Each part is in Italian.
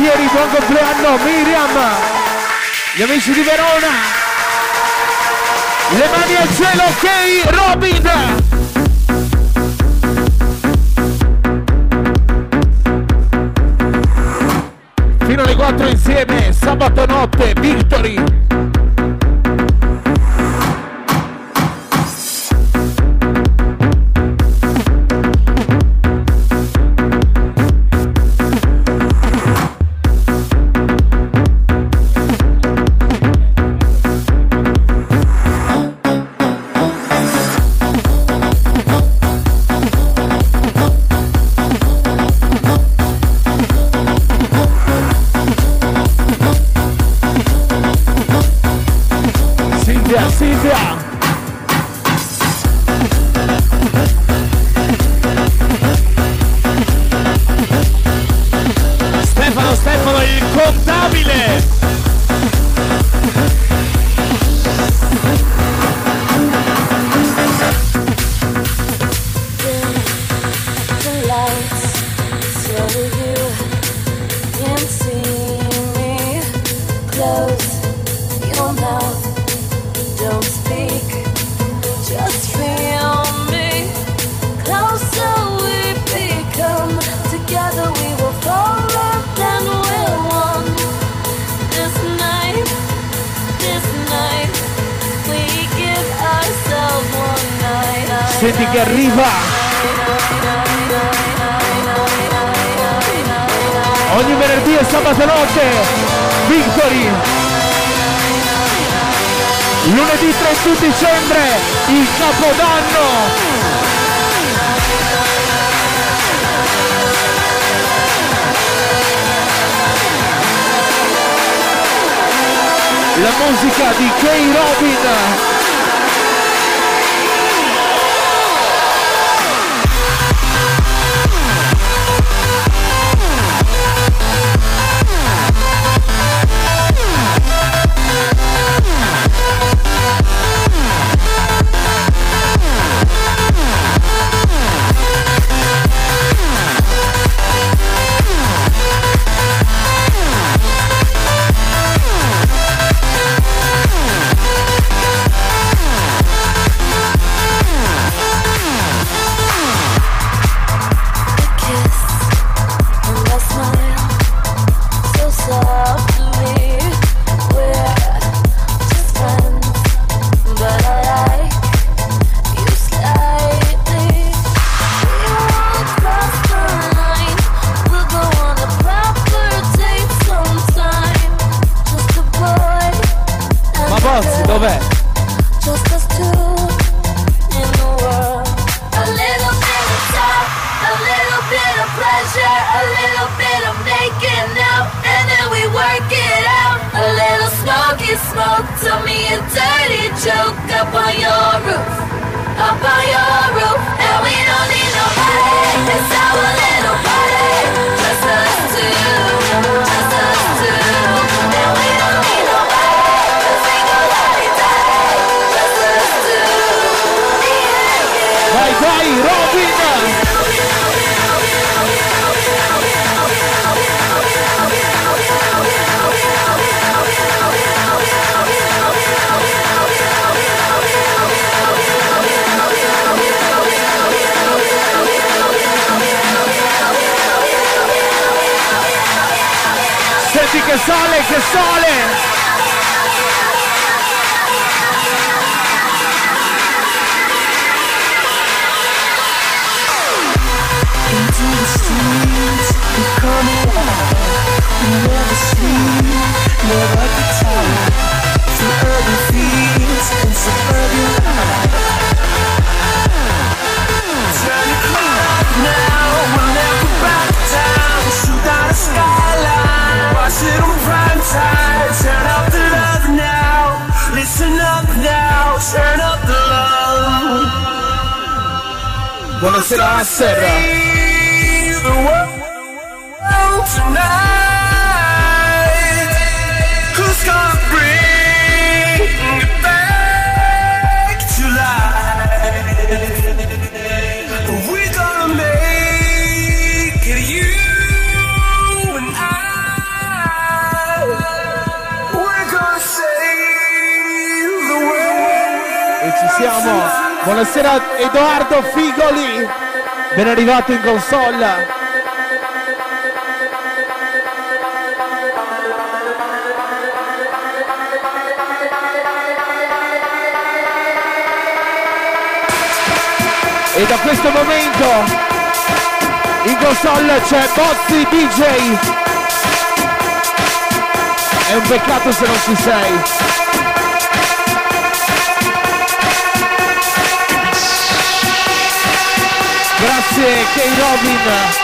Altieri, buon compleanno Miriam, gli amici di Verona, le mani al cielo, ok Robin. Fino alle 4 insieme, sabato notte, Victory. Stefano il contabile. Senti che arriva ogni venerdì e sabato notte Victory, lunedì 31 dicembre il Capodanno, la musica di K-Robin. Dov'è? Vai Robin! Senti che sale, che sale! Never sleep, never get tired. Through urban fields and suburban life. Turn the clock now, we'll never back down. Shoot down the skyline, watch it on prime time. Turn up the love now, listen up now. Turn up the love. Buonasera Serra. The world tonight. Who's gonna bring it back to life? We're gonna make it, you and I. Buonasera Edoardo Figoli, ben arrivato in console. E da questo momento in console c'è Bozzi DJ. È un peccato se non ci sei. Grazie K-Robin.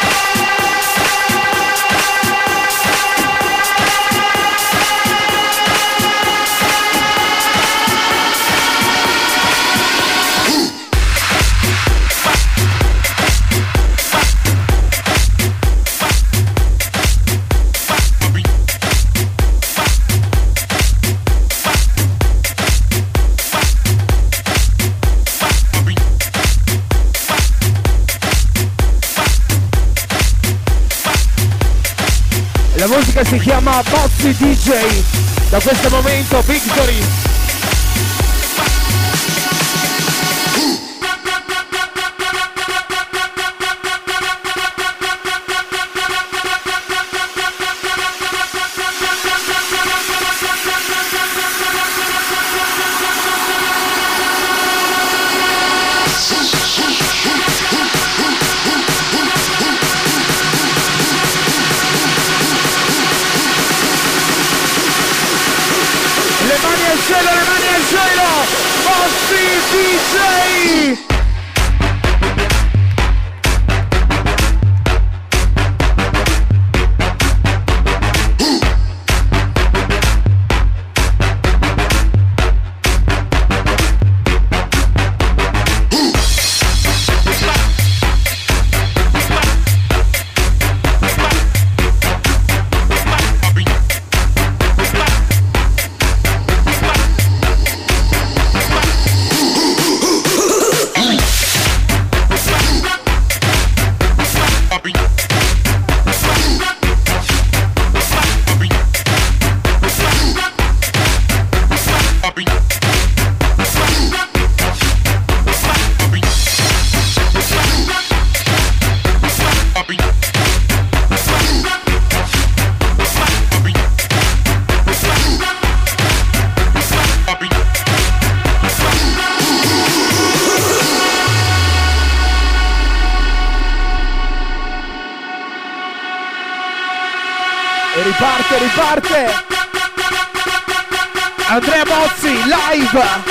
La musica si chiama Bozzi DJ, da questo momento Victory. Le mani al cielo, Bozzi DJ! Riparte Andrea Bozzi live.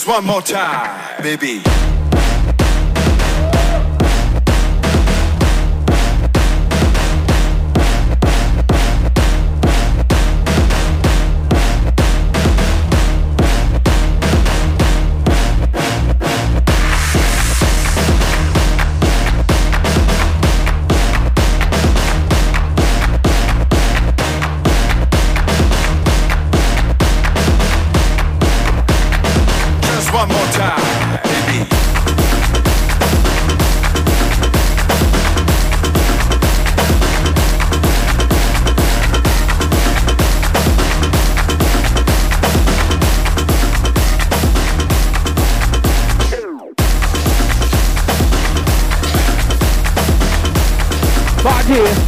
one more time, baby. One more time, baby. Party.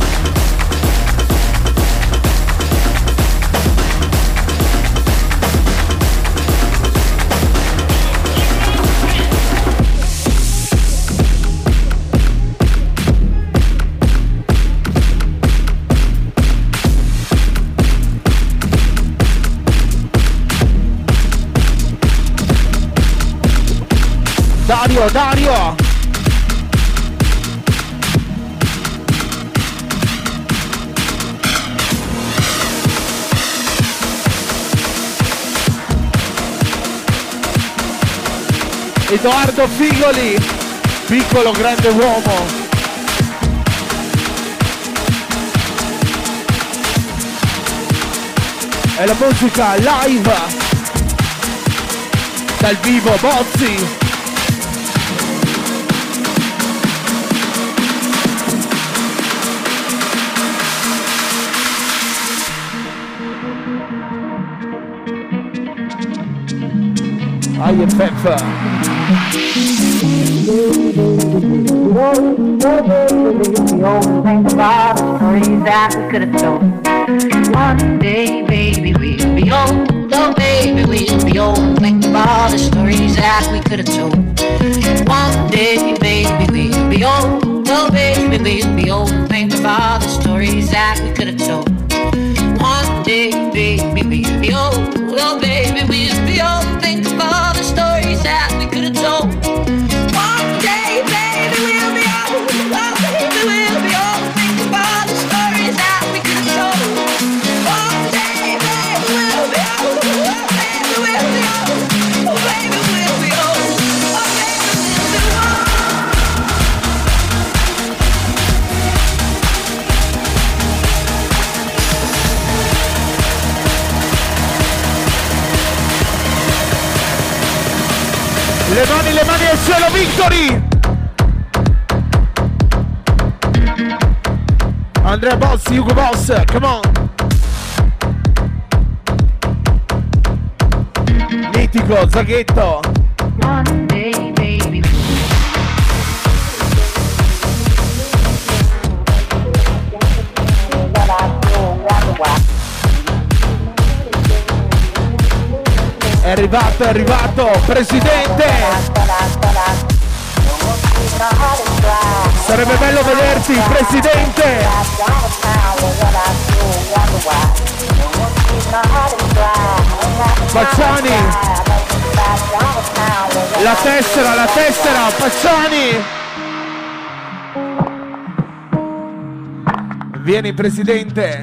Dario! Edoardo Figoli, piccolo grande uomo. È la musica live dal vivo Bozzi. IFF. One day, baby, we'll be old. Oh, baby, we'll be old. Think of all the stories that we could have told. One day, baby, we'll be old. Oh, baby, we'll be old. Think of all the stories that we could have told. One day, baby, we'll be old. Oh, baby, we'll be old. Think of all the stories that we could have told. One day, baby, we'll be old. Oh, baby, we'll be old. Think of all the stories that we could have told. One day, baby, we'll be old. Oh, baby, we'll be old. Oh, baby, we'll be old. Oh, baby, we'll be old. Le mani al cielo, Victory! Andrea Boss, Hugo Boss, come on! Mitico, Zaghetto! One day, baby. È arrivato, presidente! Sarebbe bello vederti, presidente! Pacciani! La tessera, Pacciani! Vieni, presidente!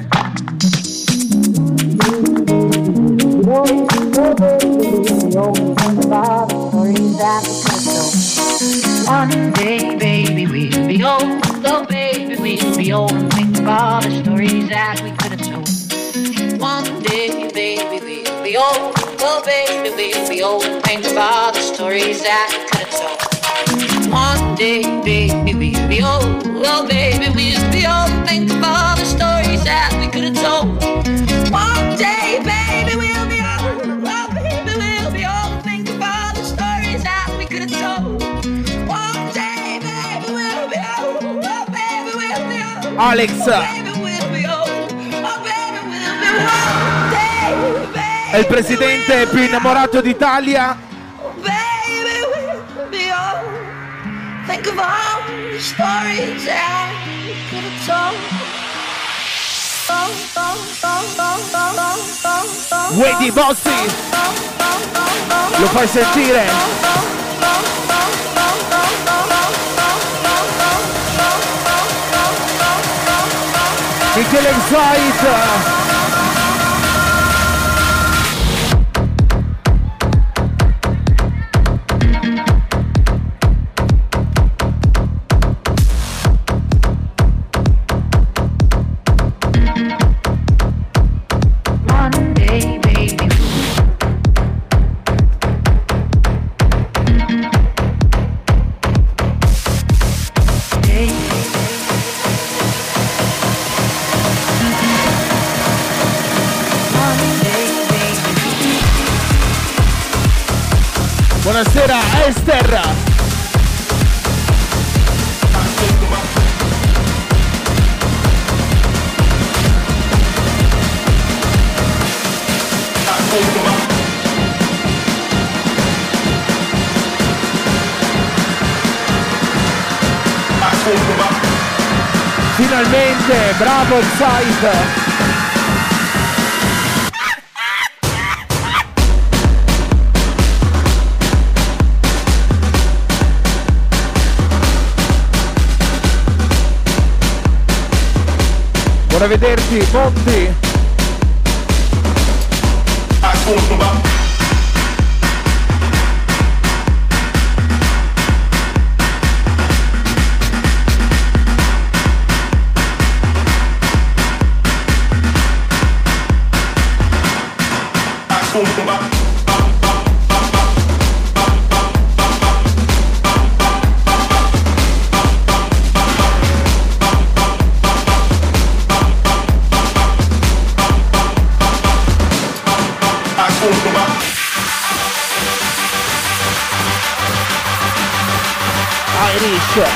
One day, baby, we'll be old. Oh, baby, we'll be old. Think of all the stories that we could have told. One day, baby, we'll be old. Oh, baby, we'll be old. Think of all the stories that we could have told. One day, baby, we'll be old. Oh, baby, we'll be old. Think of all the stories that we could have told. One day, baby, we'll be old. Oh, baby, we'll be old. Think of all the stories that we could have told. One day, baby, we'll be old. Oh, baby, we'll be old. Alex! Oh, baby, we'll be old. Oh, baby, we'll be one day, baby. È il presidente più innamorato d'Italia. Oh, baby, we'll be old. Think of all the stories that we could have told. Wedi Bossi! Lo fai sentire? Michele Inside. Buonasera Esther. Finalmente, bravo il site. Buona vederti, Monti. Irish.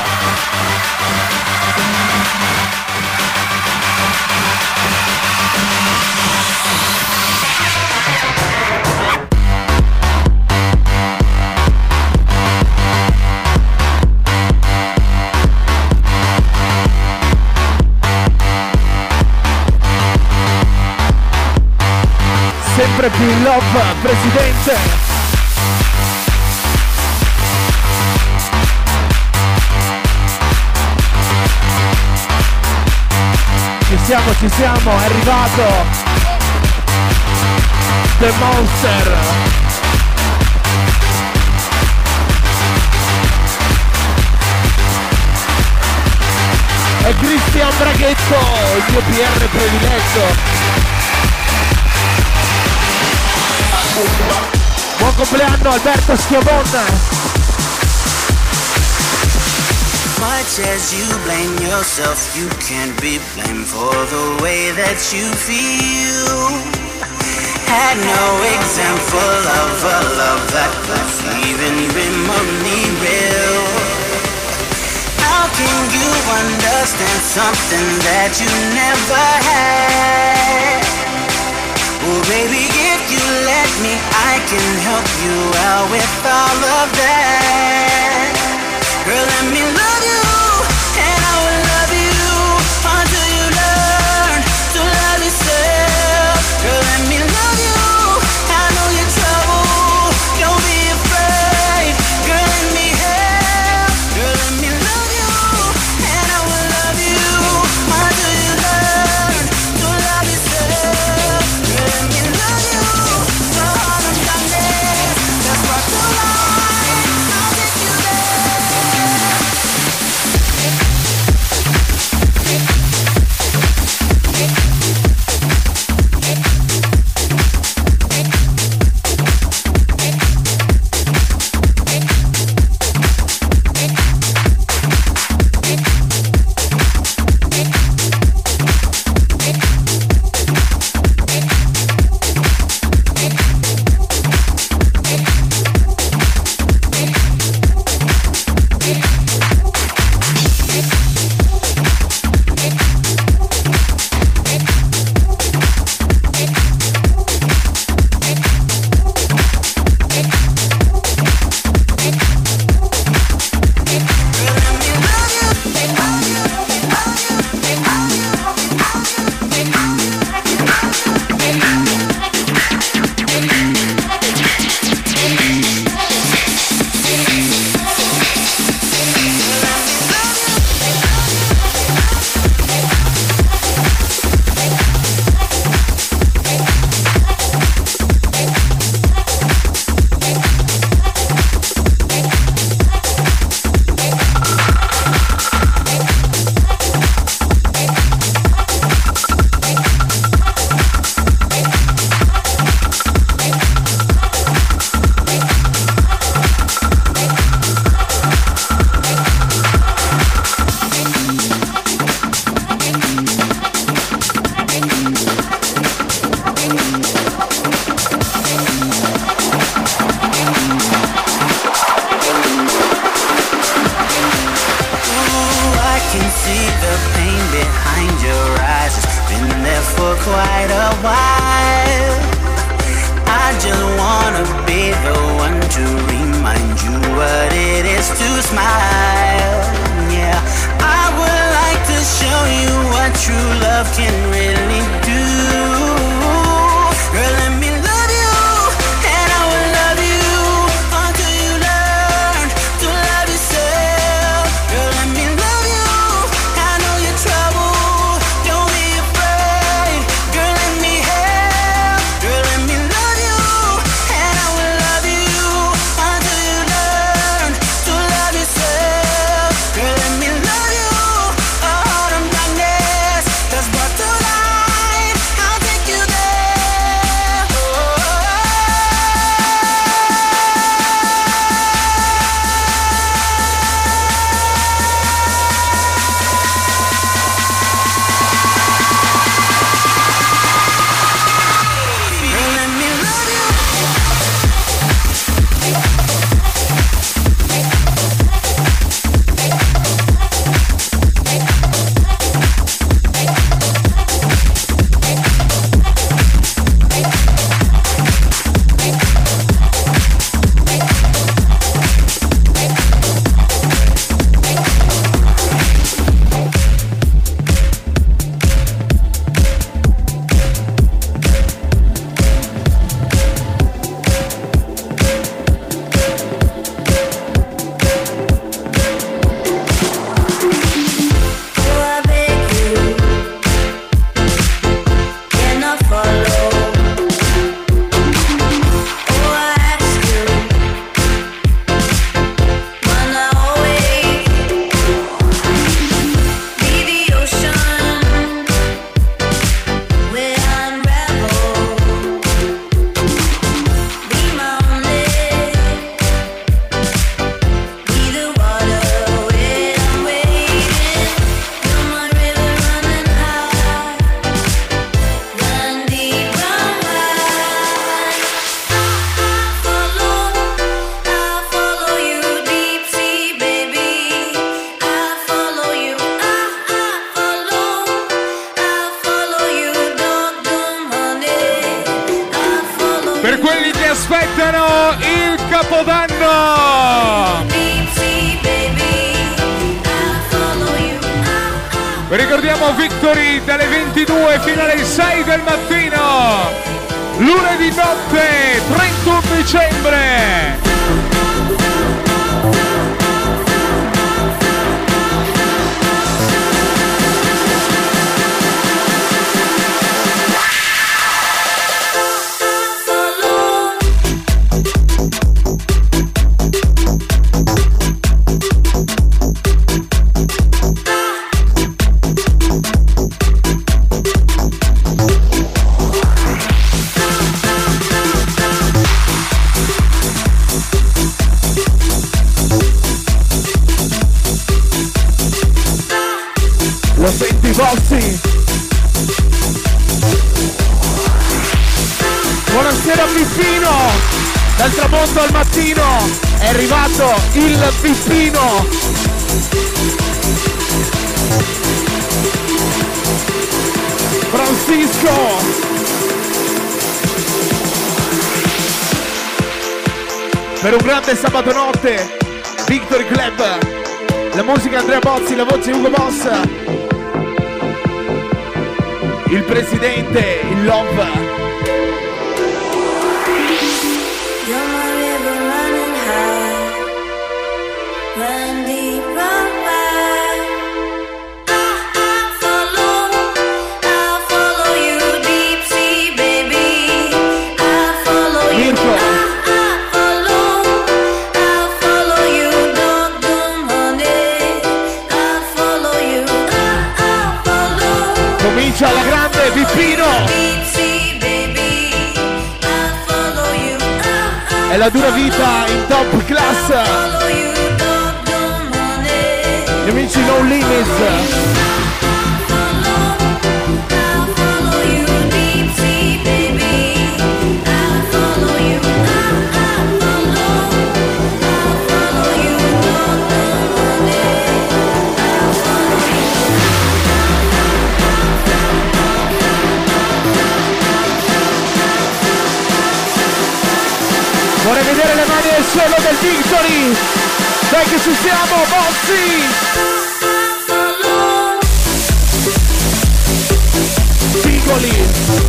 Sempre più in love, presidente. Ci siamo, è arrivato The Monster. È Cristian Braghetto, il mio PR prediletto. Buon compleanno Alberto Schiavon. Much as you blame yourself, you can't be blamed for the way that you feel. Had no example of a love that could even remotely real. How can you understand something that you never had? Well, baby, if you let me, I can help you out with all of that. Girl, let me love you, and I will love you until you learn to love yourself. Girl, let me love you, I know your trouble, don't be afraid. Girl, let me help. Girl, let me love you, and I will love you until you learn to love yourself. Girl, let me love you, so hard I'm darkness, that's what the light, I'll take you there. aspettano il Capodanno. Vi ricordiamo Victory dalle 22 fino alle 6 del mattino, lunedì notte 31 dicembre. Lo senti Bossi? Buonasera Pippino, dal tramonto al mattino è arrivato il Pippino. Francisco. Per un grande sabato notte, Victory Club, la musica Andrea Bozzi, la voce Ugo Boss, il presidente, il Love. You're my river running high, run deep, run wide. I'll follow you deep sea, baby. I'll follow you. Mirko. I'll follow you, don't do money. I'll follow you. I'll follow. Comincia la grande Pippino. Deep sea, baby. I'll follow you. È la dura vita in top class. Follow you, don't do money. Gli amici No Limits. I'll follow you, deep sea, baby. I'll follow you. I'll follow you, don't do money. I'll follow you. Vorrei vedere le mani al suolo del Victory. Dai che ci siamo, Bozzi. Piccoli.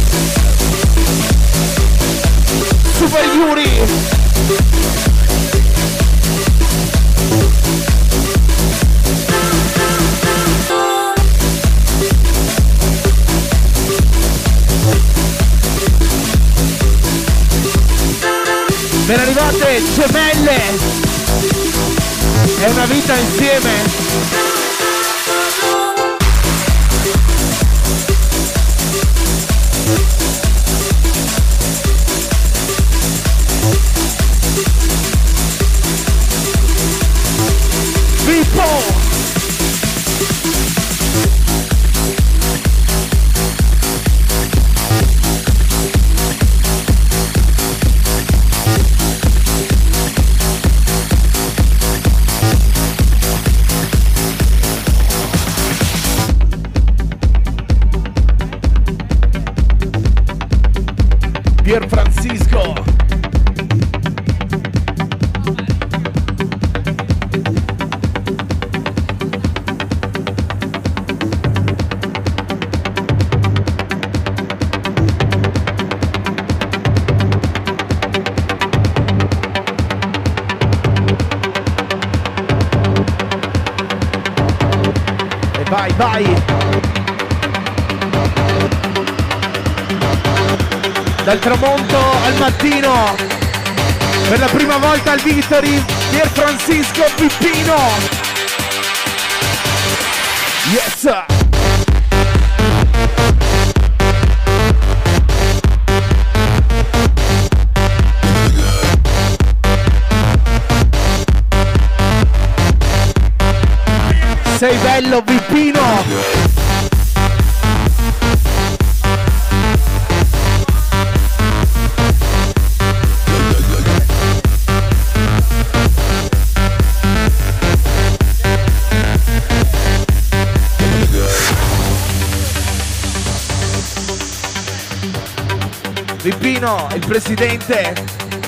Super Yuri. Ben arrivate gemelle. È una vita insieme. Vipo. Pier Francisco. E vai. Dal tramonto al mattino, per la prima volta al Victory, Pier Francisco Pippino. Yes! Sei bello Pippino! Pippino, il presidente,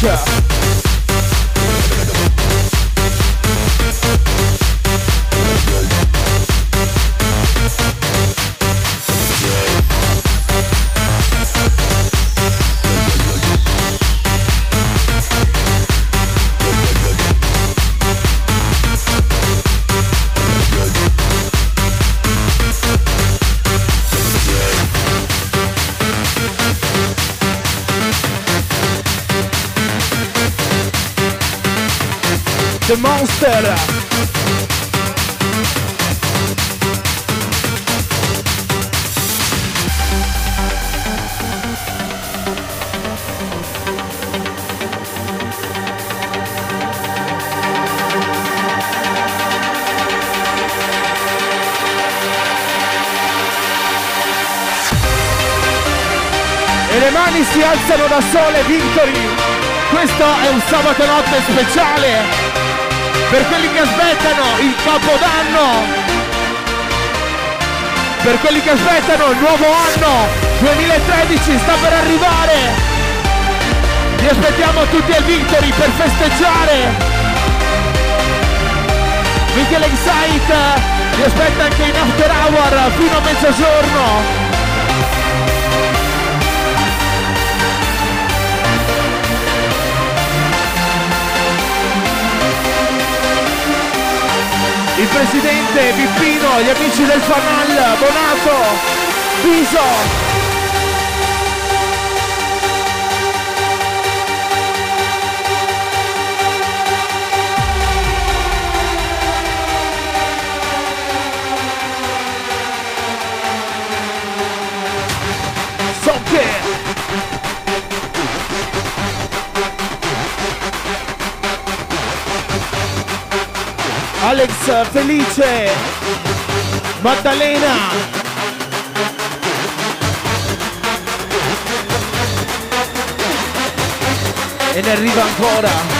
The Monster. E le mani si alzano da sole, Victory. Questo è un sabato notte speciale per quelli che aspettano il Capodanno, per quelli che aspettano il nuovo anno 2013 sta per arrivare. Vi aspettiamo tutti al Victory per festeggiare. Michele Excite vi aspetta anche in after hour fino a mezzogiorno. Il presidente Pippino, gli amici del Fanal, Bonato, Piso. Socche. Alex Felice, Maddalena, e ne arriva ancora.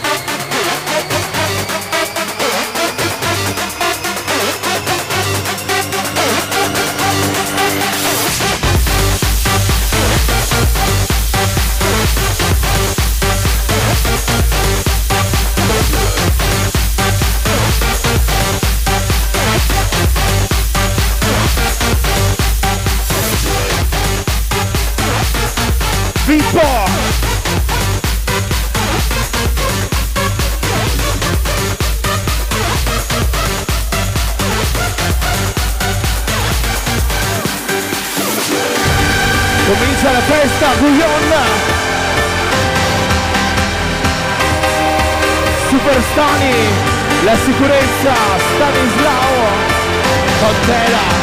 Pippo! Comincia la festa, Guillon! Superstani, la sicurezza, Stanislao, Contera.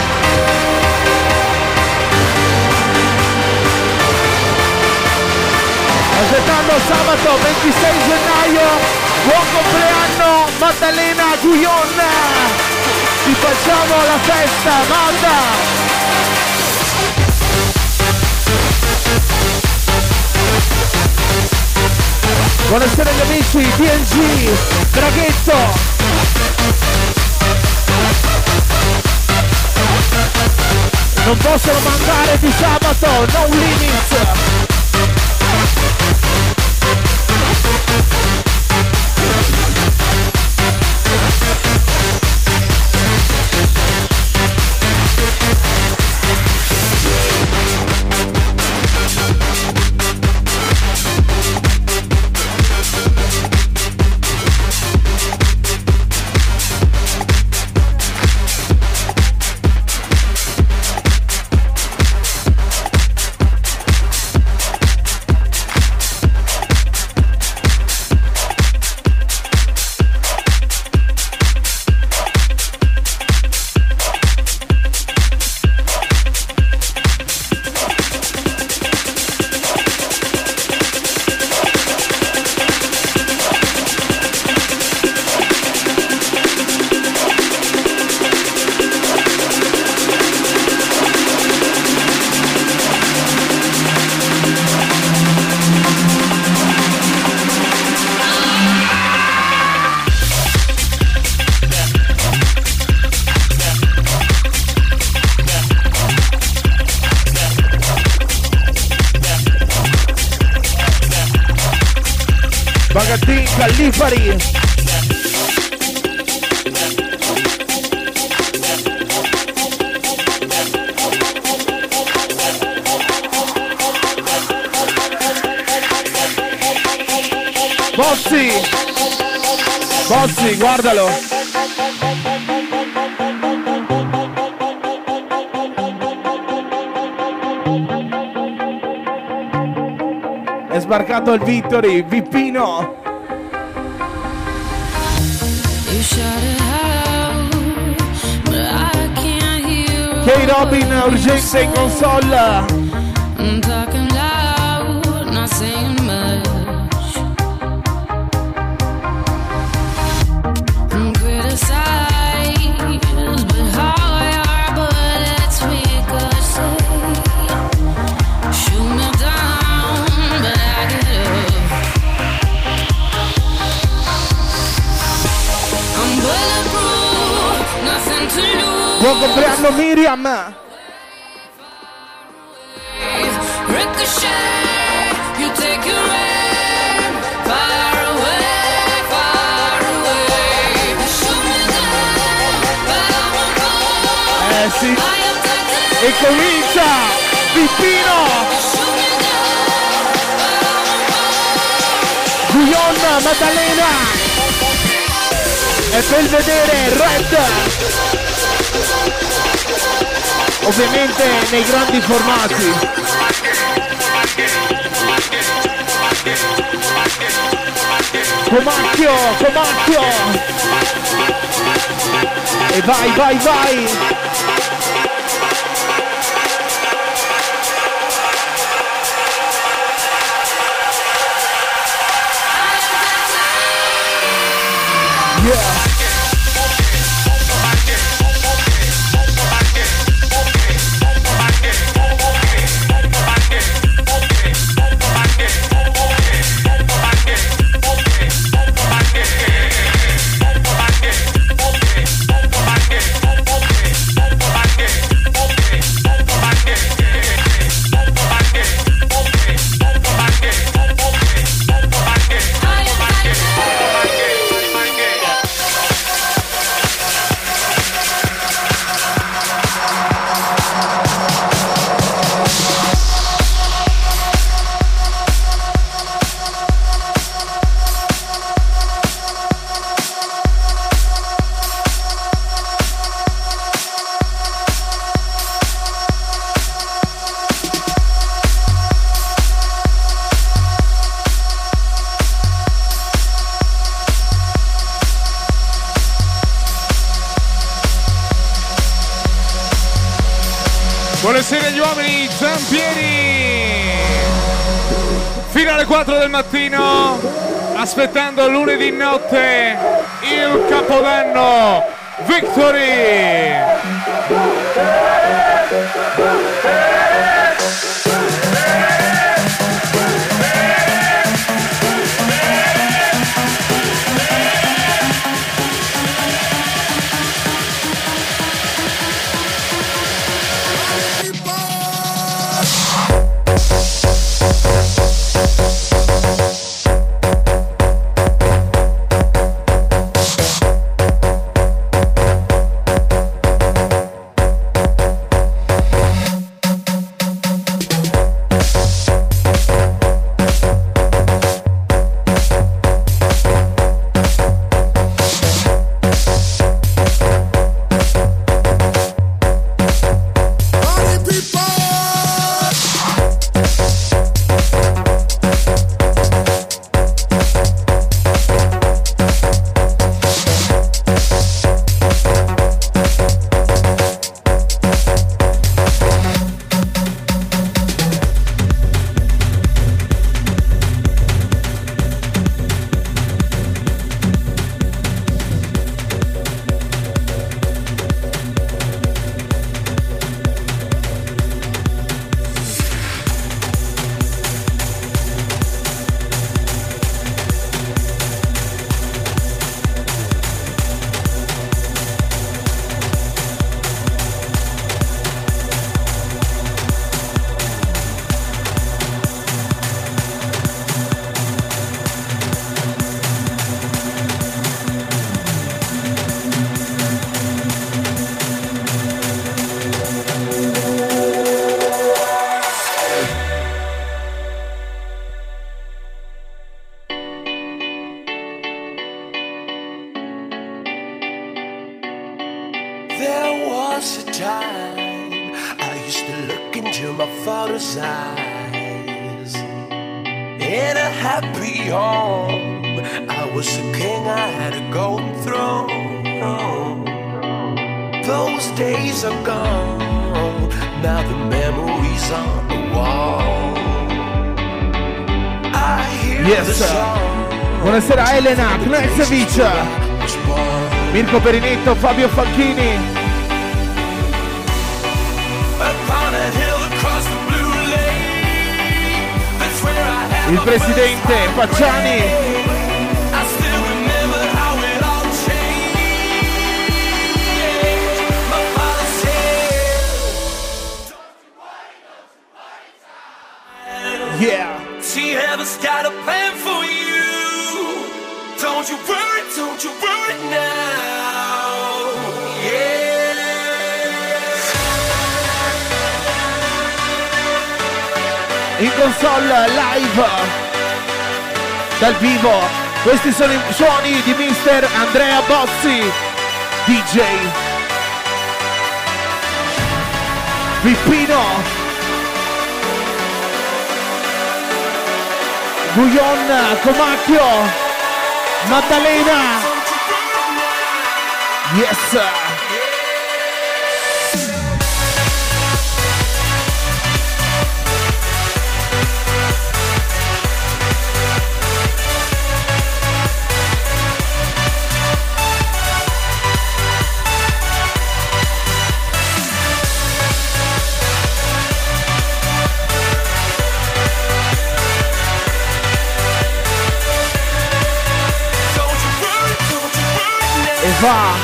Aspettando sabato 26 gennaio, buon compleanno Maddalena Guillon, ti facciamo la festa, Madda! Buonasera agli amici, TNG, Draghetto! Non possono mancare di sabato, no limits! Bagatin, Callifari. Bossi, guardalo. È sbarcato il Victory, Vippino. K-Robin urgente in console. I'm talking loud, not saying much. I'm criticized, but how I are, but it's ricochet. Shoot me down, but I get up. I'm bulletproof, nothing to lose. Buon compleanno Miriam. Ricochet, you take your aim, far away, far away. Shoot me down, but I won't go. Sì. I am taken. E comincia Vippino. Shoot me down, but I won't go. Guion, Maddalena. E per vedere Red. Ovviamente nei grandi formati. Comacchio. E vai. Yeah. Buonasera agli uomini, Zampieri! Fino alle 4 del mattino, aspettando lunedì notte il Capodanno Victory! was a time I used to look into my father's eyes. In a happy home, I was a king, I had a golden throne. Those days are gone, now the memories on the wall. I hear Yes. the song. Buonasera Elena, Knezevic, Mirko Perinetto, Fabio Facchini. Upon a hill across the blue lake, that's where I had Il my presidente first Facciani. heartbreak. I still remember how it all changed. My father said, Yeah. see, heaven's got a plan for you. Don't you worry now. Yeah. In console live dal vivo, questi sono i suoni di Mister Andrea Bozzi, DJ Pippino, Guyon Comacchio, Maddalena. Yes. E va.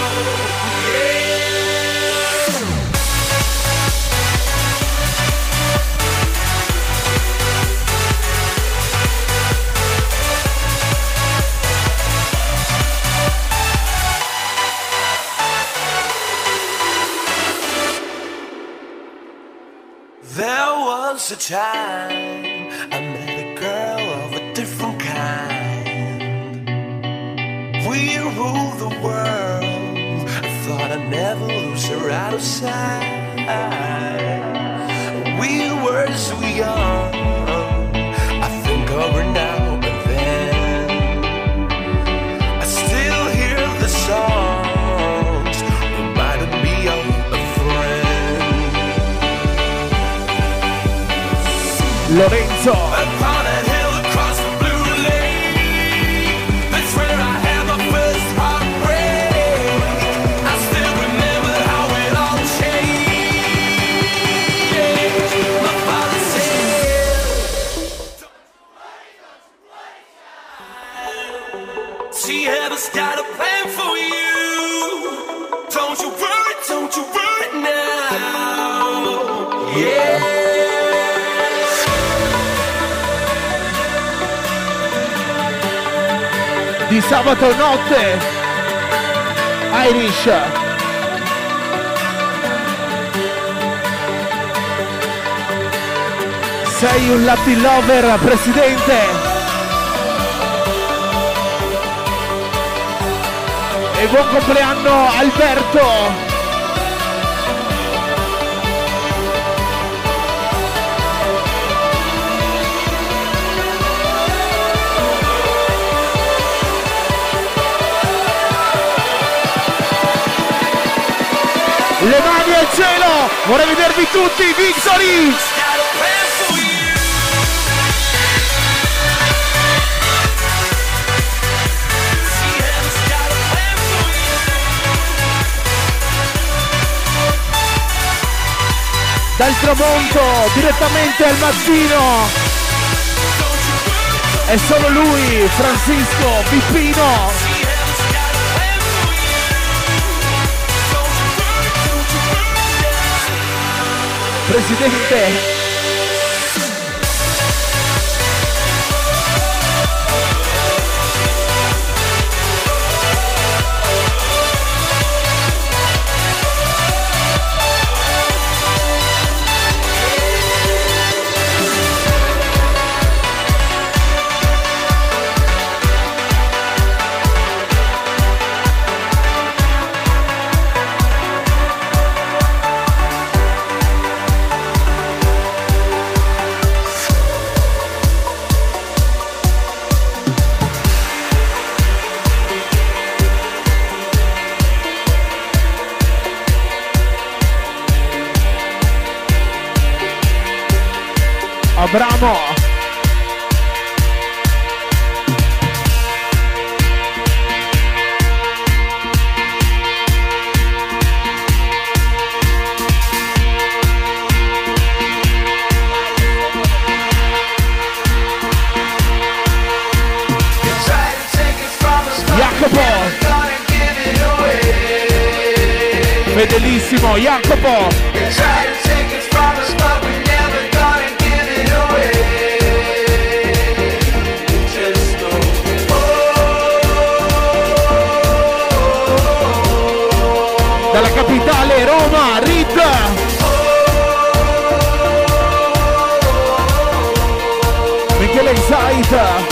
There was a time I met a girl of a different kind. We ruled the world. I thought I'd never lose her out of sight. We were so young. I think of her now and then. I still hear the songs reminding me of a friend. Lorenzo. Upon a hill across the blue lake, that's where I had my first heartbreak. I still remember how it all changed. My father said, see, heaven's got a plan for you. Don't you worry now. Yeah. Di sabato notte Irish. Sei un Latin lover, presidente. E buon compleanno Alberto. Le mani al cielo, vorrei vedervi tutti, Victory! Dal tramonto, direttamente al mattino, è solo lui, Francisco Pippino. Presidente. Abramo. Fedelissimo Jacopo. Dalla capitale Roma, Rid. Michele Inside.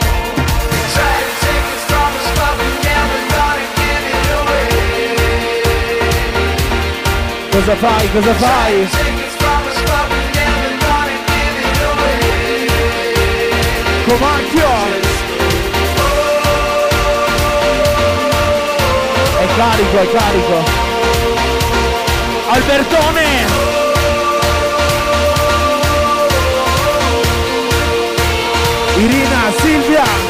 Cosa fai? Cosa fai? Comacchio! È carico, è carico! Albertone! Irina, Silvia!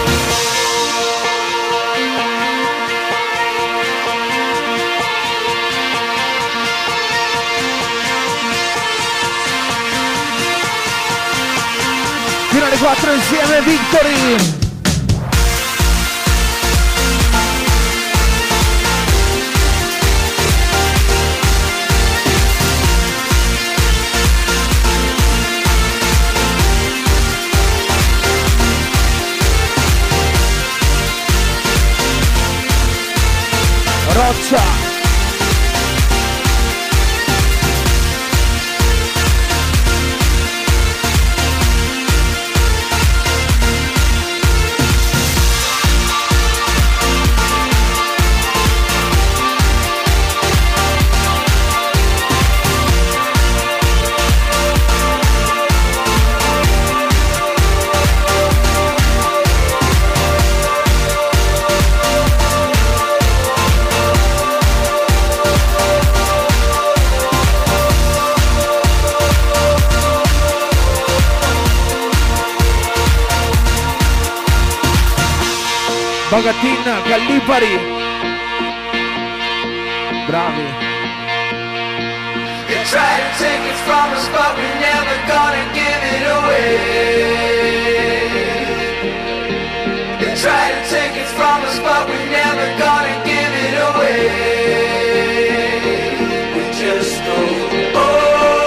Fino alle 4 insieme, Victory! Roccia! Bagatin, Gallipari. Bravi. You try to take it from us, but we're never gonna give it away. You try to take it from us, but we're never gonna give it away. We just go, oh.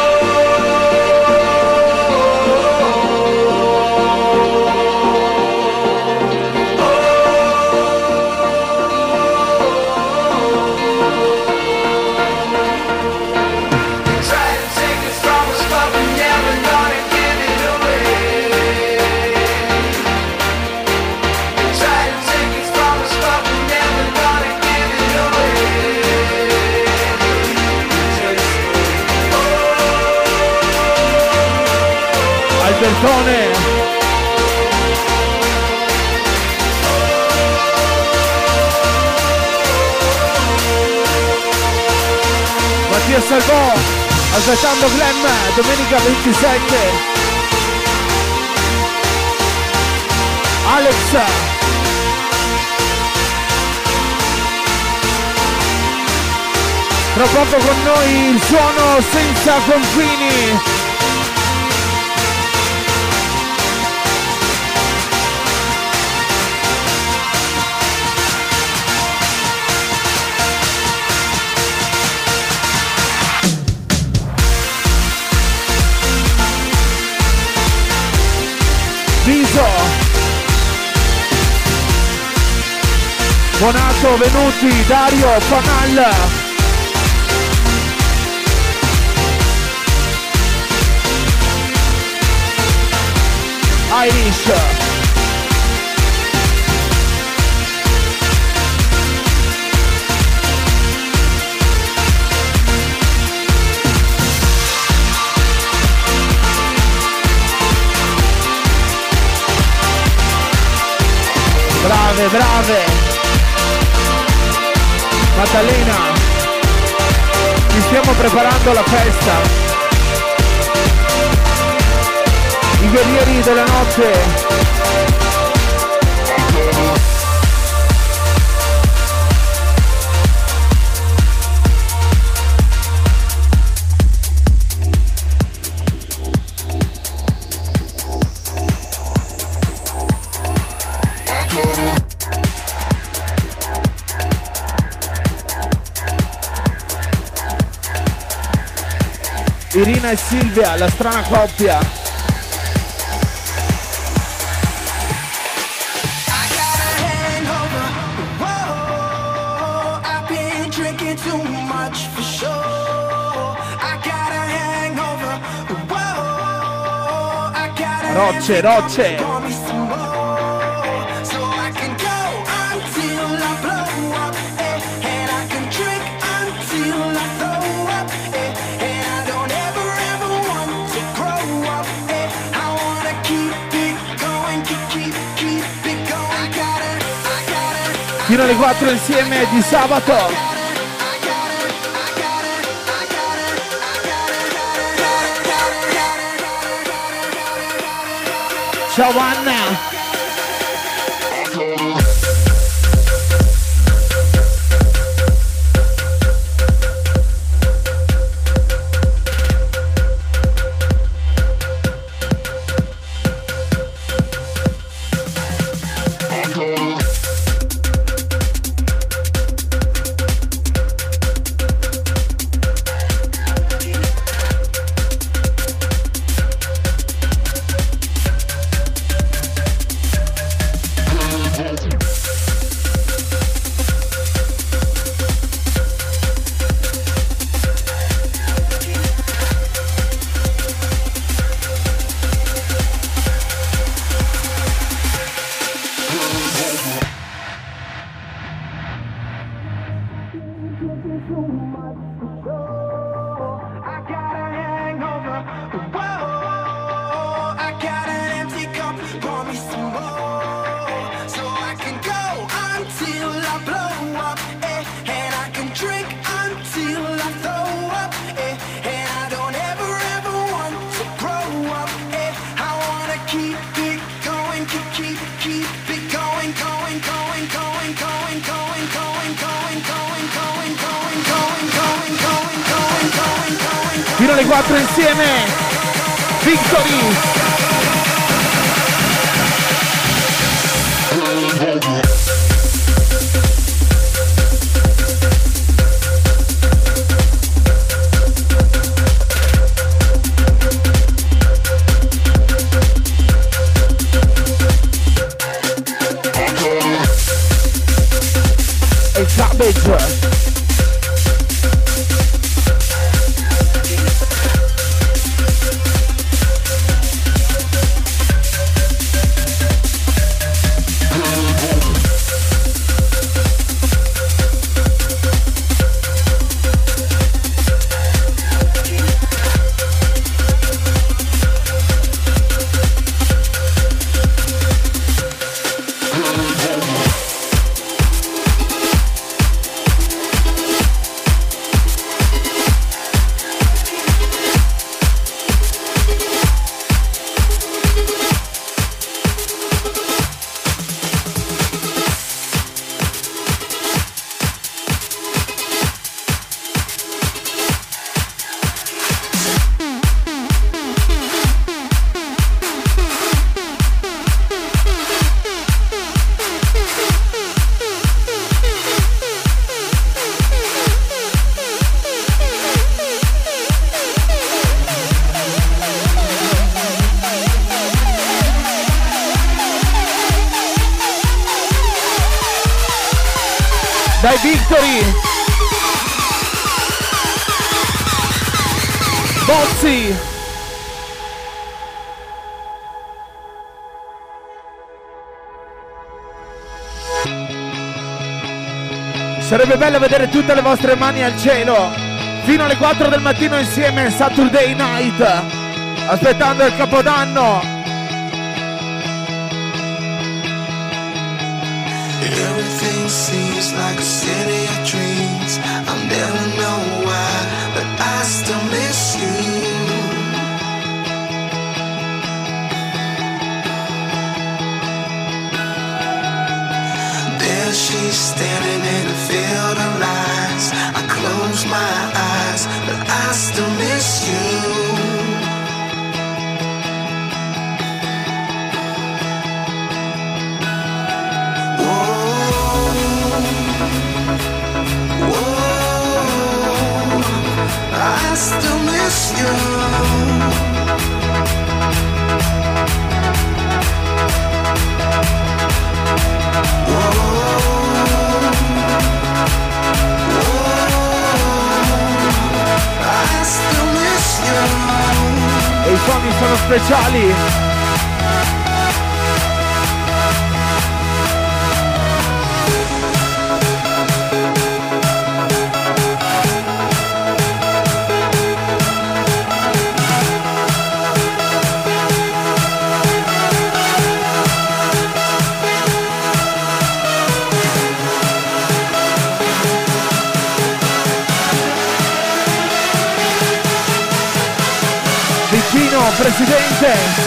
Albertone. Mattia Salvò, aspettando Glenn, domenica 27. Alex. Tra poco con noi il suono senza confini. Viso, Bonato, Venuti, Dario, Fanal, Irish, brave, brave. Maddalena, ci stiamo preparando la festa. guerrieri della notte. Irina e Silvia, la strana coppia. Rocce, rocce. Fino alle 4 insieme di sabato. Ciao Anna. Fino alle 4 insieme. Victory. E Cabbage. Dai Victory! Bozzi! Sarebbe bello vedere tutte le vostre mani al cielo fino alle 4 del mattino insieme Saturday Night, aspettando il Capodanno. Everything seems like a city of dreams. I'll never know why, but I still miss you. she's standing in a field of lies. I close my eyes, but I still miss you. I still miss you. I still miss you. E i suoni sono speciali. Vicino, presidente.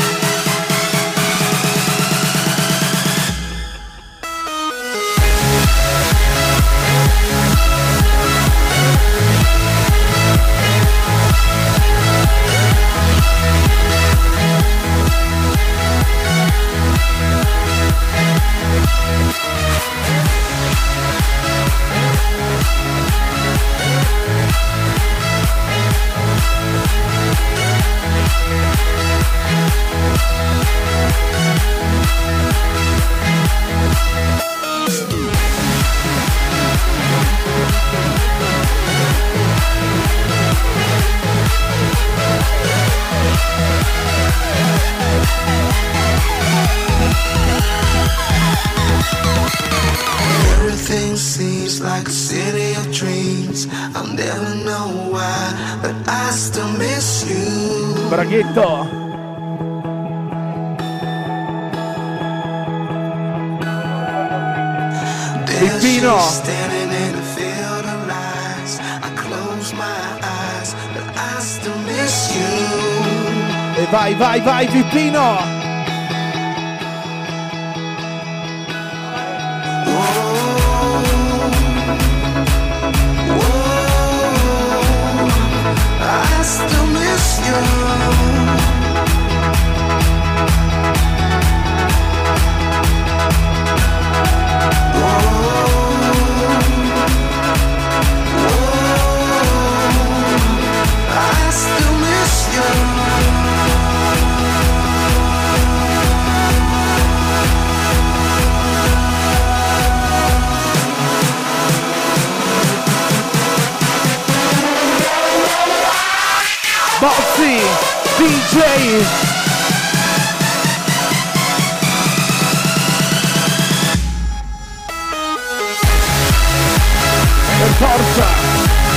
Everything seems like a city of dreams. I'll never know why, but I still miss you. Braghetto. There Pino. she's standing in a field of lies. I close my eyes, but I still miss you. E vai, vai, vai, Pippino. I still miss you. I still miss you. Bozzi, DJ. Per forza.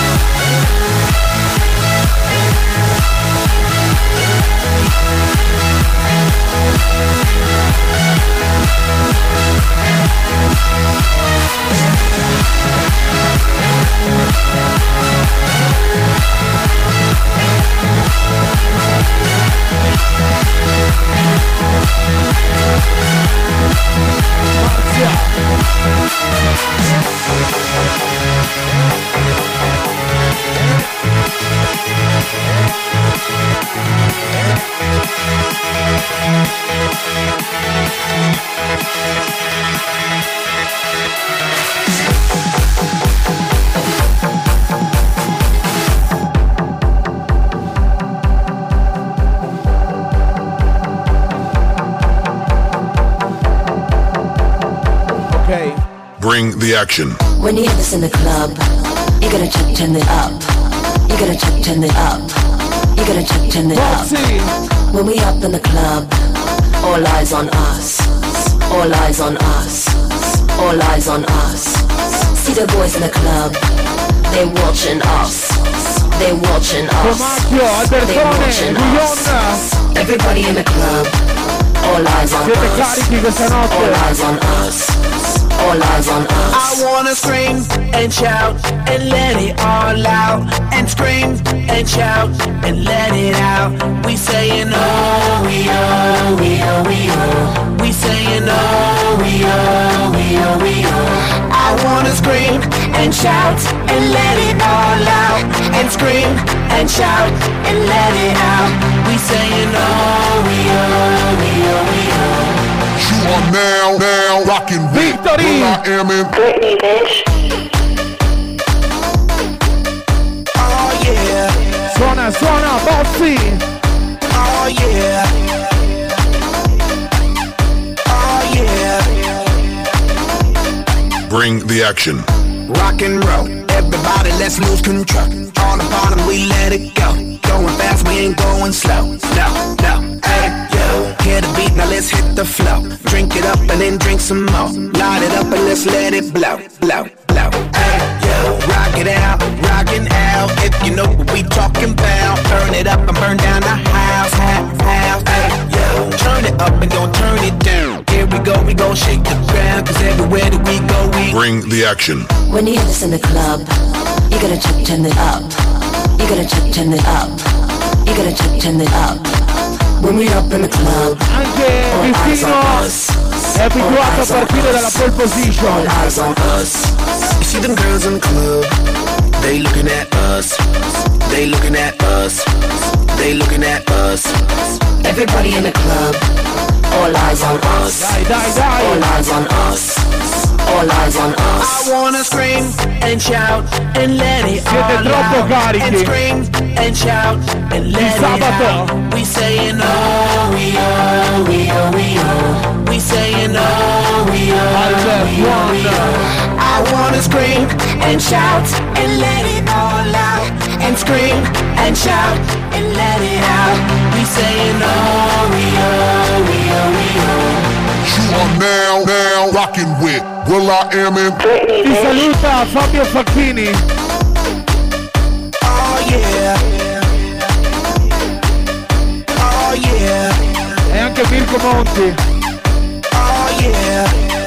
Bring the action. When you hear this in the club, you gotta turn it up. You gotta turn it up. You gotta turn it up. When we up in the club, all eyes on us. All eyes on us. All eyes on us. See the boys in the club, they watching us. They watching us. They watching us. Everybody in the club, all eyes on us. All eyes on us. All eyes on us. I wanna scream and shout and let it all out. And scream and shout and let it out. We saying oh, we oh, we oh, we oh. We saying oh, we oh, we oh, we oh. I wanna scream and shout and let it all out. And scream and shout and let it out. We saying oh, we oh, we oh, we oh. You are now rocking Victory. I am in Britney, bitch. Oh yeah. Suona, Bozzi. Oh yeah. Oh yeah. Bring the action. Rock and roll, everybody let's lose control. On the bottom we let it go. Going fast, we ain't going slow. No, hey, yo. Hear the beat, now let's hit the flow. Drink it up and then drink some more. Light it up and let's let it blow. Hey, yo. Rock it out, rockin' out. If you know what we talking about. Burn it up and burn down the house. Hey, yo. Turn it up and don't turn it down. Here we go shake the ground. Cause everywhere that we go, we Bring the action. When you hear this in the club, you gotta turn it up. You gotta turn it up. You gotta turn it up. When we up in the club, Anche Vicino è abituato a partire dalla pole position. all eyes on us. You see them girls in the club, they looking at us. They looking at us. They looking at us. Everybody in the club, all eyes on us. Dai. All eyes on us. All eyes on us. I wanna scream and shout and let it Siete all troppo out. carichi. And scream and shout and let it sabato. out. We saying oh, we oh, we oh, we oh. We saying oh, we oh, we oh, we oh. I wanna scream and shout and let it all out. And scream and shout and let it out. We saying oh, we oh, we oh, we oh. You are now rocking with Will I Am in Britney, Ti bitch. saluta Fabio Facchini. Oh yeah. Oh yeah. E anche Mirko Monti. Oh yeah.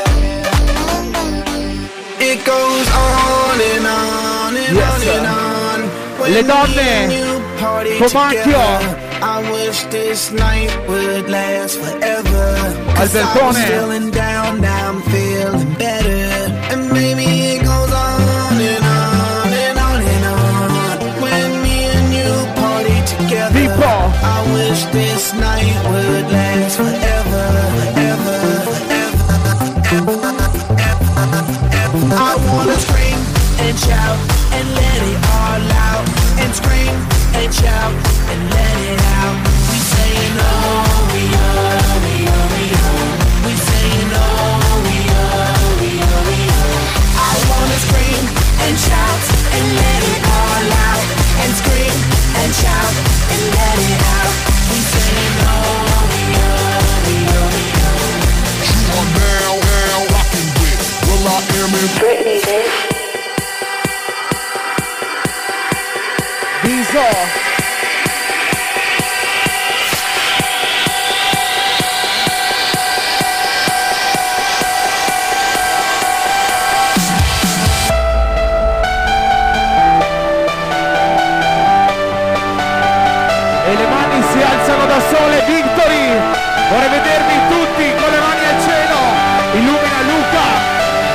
It goes on and on and Yes, on sir. and on. When Le me donne, and you party Comacchio. together, I wish this night would last forever. 'Cause I was Albertone. feeling down, now I'm feeling better. And maybe it goes on and on and on and on. When me and you party together, Pippo. I wish this night would last forever, forever, forever, I wanna scream and shout and let it all out. And scream and shout and let it out. We saying oh, we oh, we oh, we oh. We saying oh, we oh, we oh, we oh. I wanna scream and shout and let it all out. And scream and shout and let it out. We saying oh, we oh, we oh, we oh. You are now rocking with Will I Am in Britney, bitch. Viso. E le mani si alzano da sole, Victory! Vorrei vedervi tutti con le mani al cielo! Illumina Luca!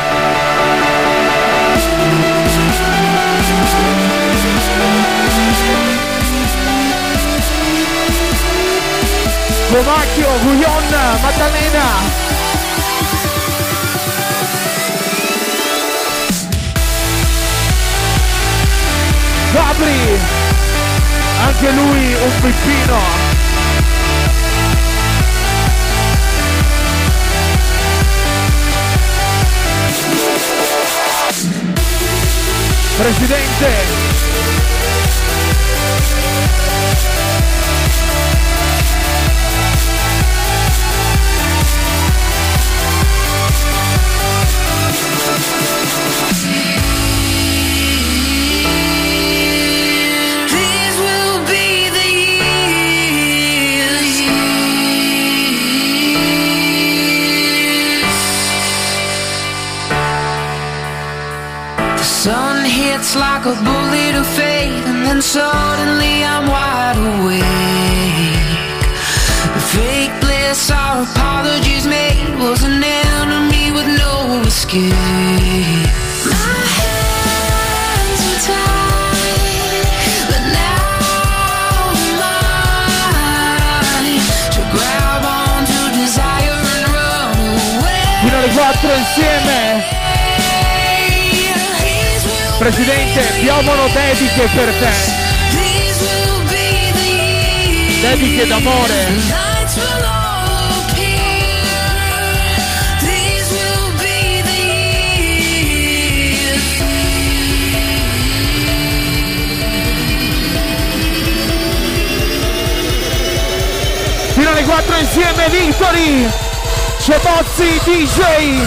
Comacchio, Guglion, Maddalena! Gabri! Anche lui un pippino! Presidente! These will be the years. The sun hits like a bullet of fate, and then suddenly I'm wide awake. The fake bliss our apologies made was an enemy with no escape. Fino alle 4 insieme. Presidente, piovono dediche per te. Dediche d'amore. Fino alle 4 insieme, Victory! Ciabozzi DJ!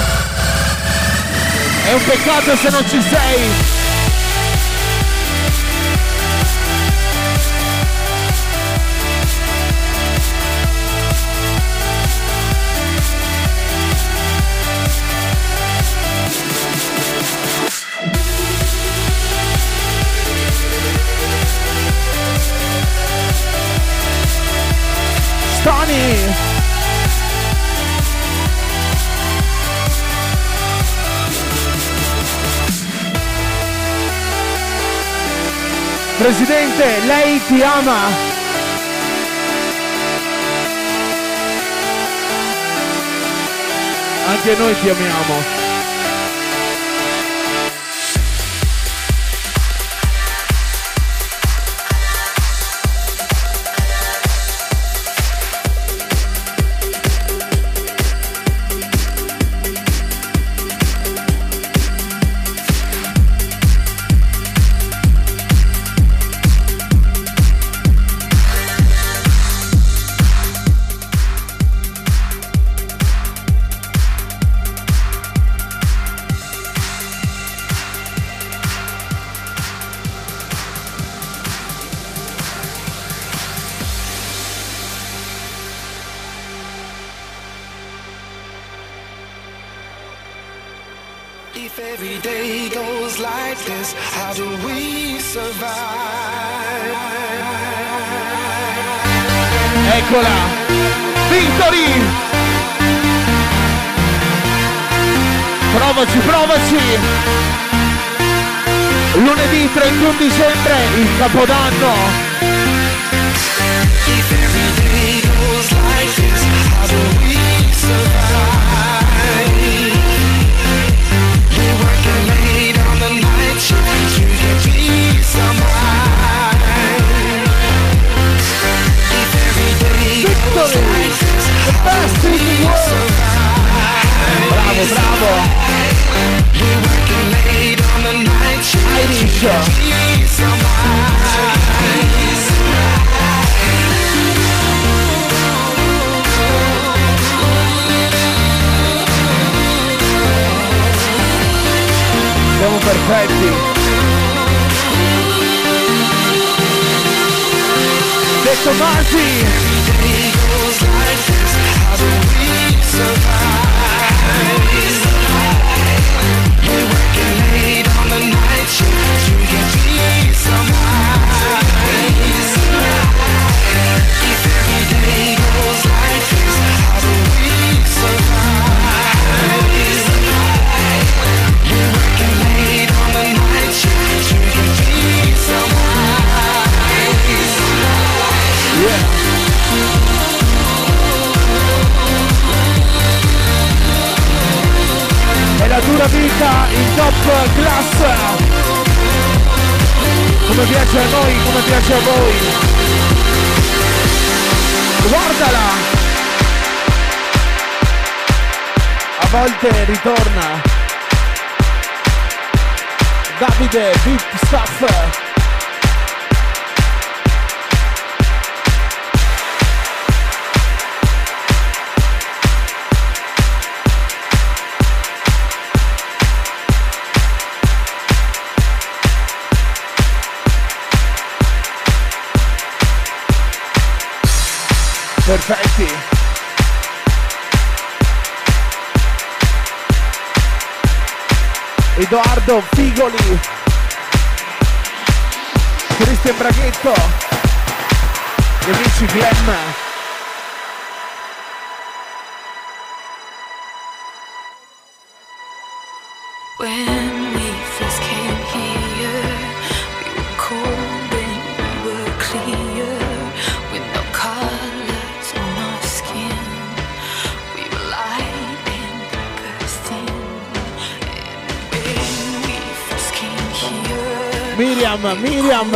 È un peccato se non ci sei! Stani! Presidente, lei ti ama. Anche noi ti amiamo. If every day goes like this, how do we survive? Eccola! Victory! Provaci, provaci! Lunedì 31 dicembre, il Capodanno! If every day goes like this, how do we survive? We're working late on the night shift to get peace of mind. If every day goes like this, how do we survive? Bravo, bravo! We're working late on the night shift to get peace of mind. Siamo perfetti. De Tomasi. È la dura vita in top class, come piace a noi, come piace a voi. Guardala, a volte ritorna Davide Big Stuff. Perfetti. Edoardo Figoli, Cristian Braghetto, gli amici Glenn. When we first came here, we were cold and we were clear, with no colors on our skin. We were light in the Miriam.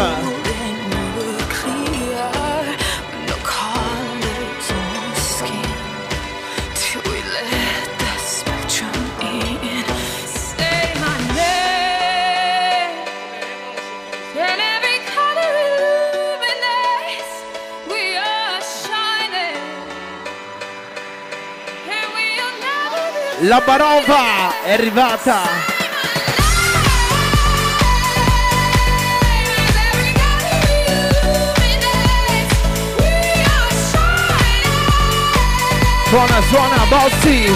La Barova è arrivata. Suona, Bozzi.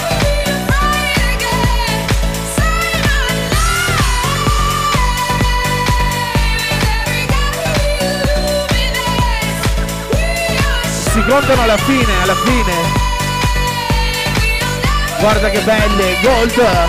Si contano alla fine. Guarda che belle, Gold.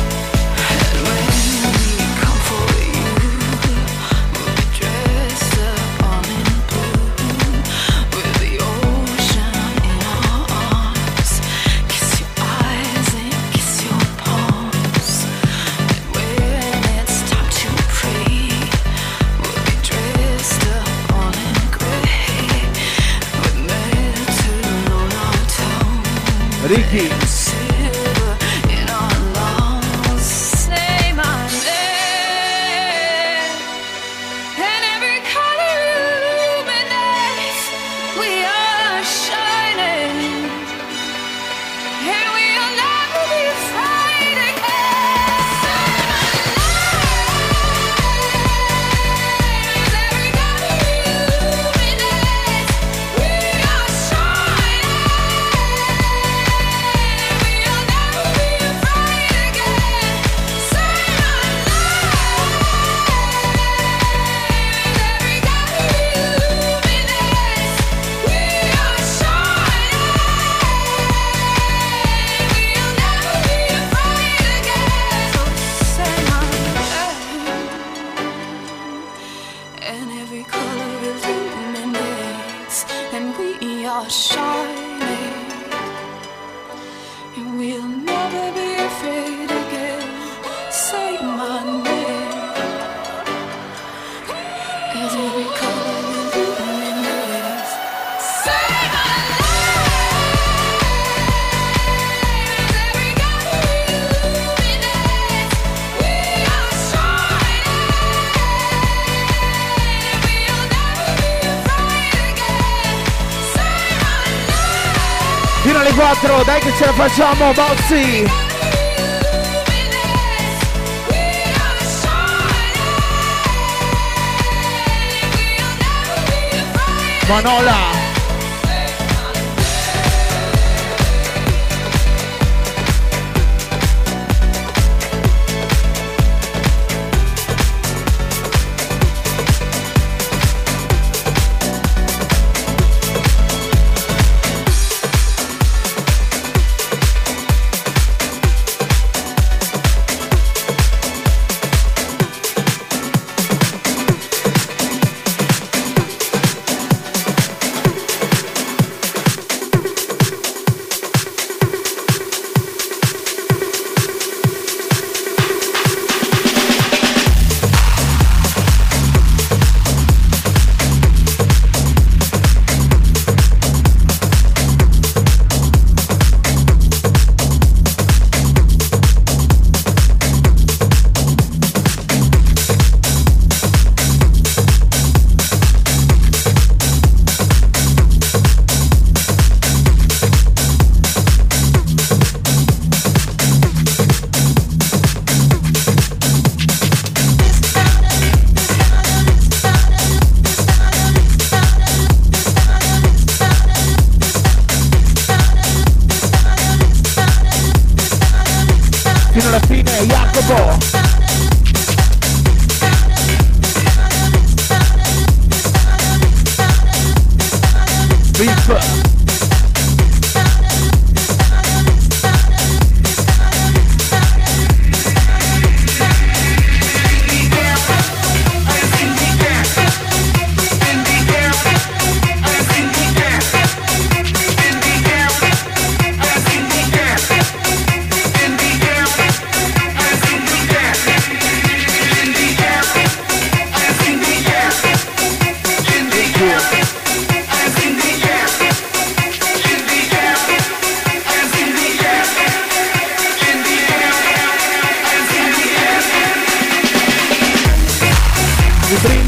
Ricky. Fino alle 4, dai che ce la facciamo, Bozzi! Manola! Fino alla fine, Jacopo. Beef.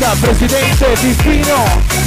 presidente Pispino.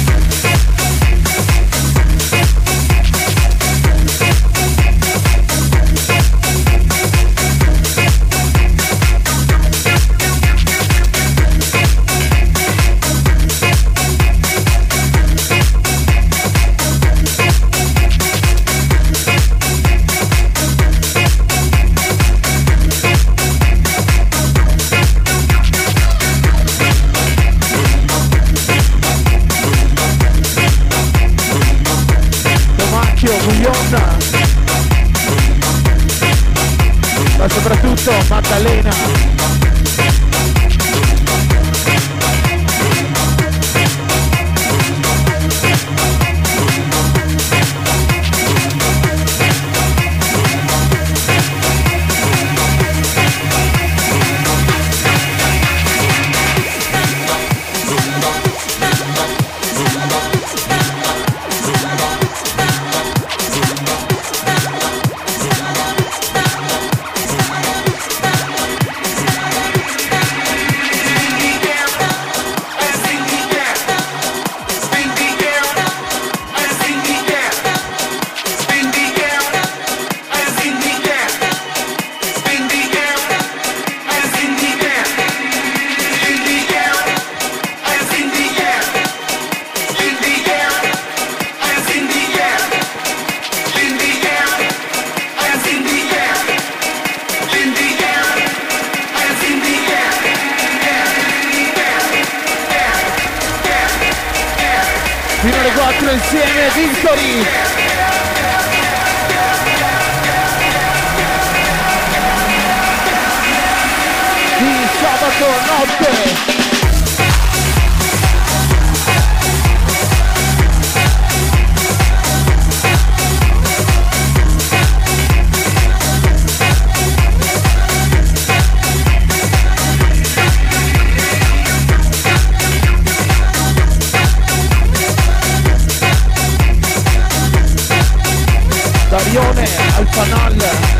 Ma soprattutto Maddalena. Fino alle 4 insieme, Victory! Di sabato notte! Darione al fanal.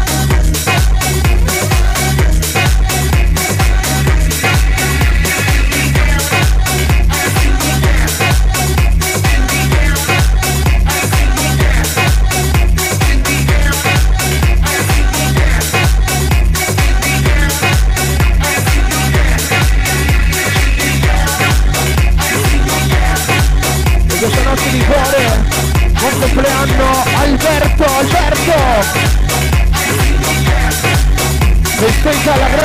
E questa notte di cuore, buon compleanno Alberto! Festeggia la